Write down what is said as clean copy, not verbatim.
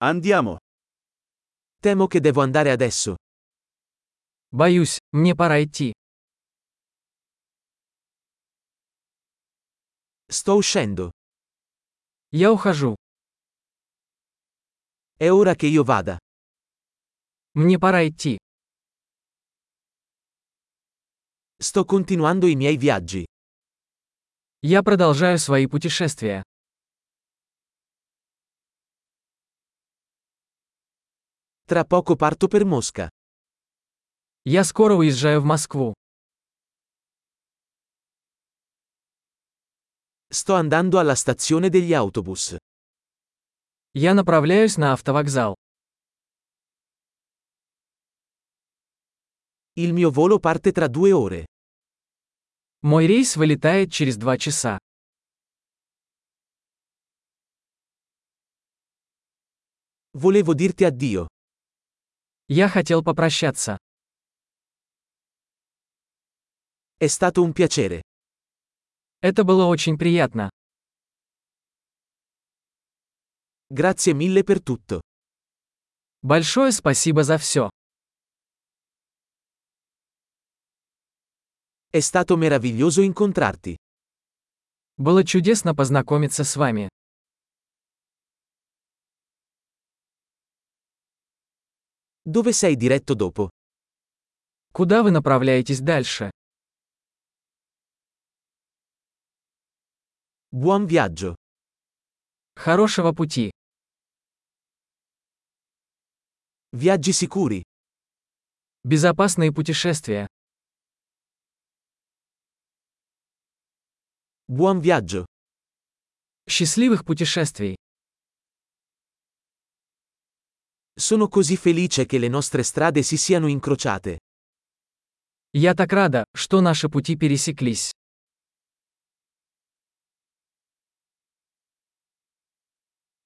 Andiamo. Temo che devo andare adesso. Боюсь, мне пора идти. Sto uscendo. Я ухожу. È ora che io vada. Мне пора идти. Sto continuando i miei viaggi. Я продолжаю свои путешествия. Tra poco parto per Mosca. Я скоро уезжаю в Москву. Sto andando alla stazione degli autobus. Я направляюсь на автовокзал. Il mio volo parte tra 2 ore. Мой рейс вылетает через 2 часа. Volevo dirti addio. Я хотел попрощаться. È stato un piacere. Это было очень приятно. Grazie mille per tutto. Большое спасибо за все. È stato meraviglioso incontrarti. Было чудесно познакомиться с вами. Dove sei diretto dopo? Куда вы направляетесь дальше? Buon viaggio. Хорошего пути. Viaggi sicuri. Безопасные путешествия. Buon viaggio. Счастливых путешествий. Sono così felice che le nostre strade si siano incrociate. Я так рада, что наши пути пересеклись.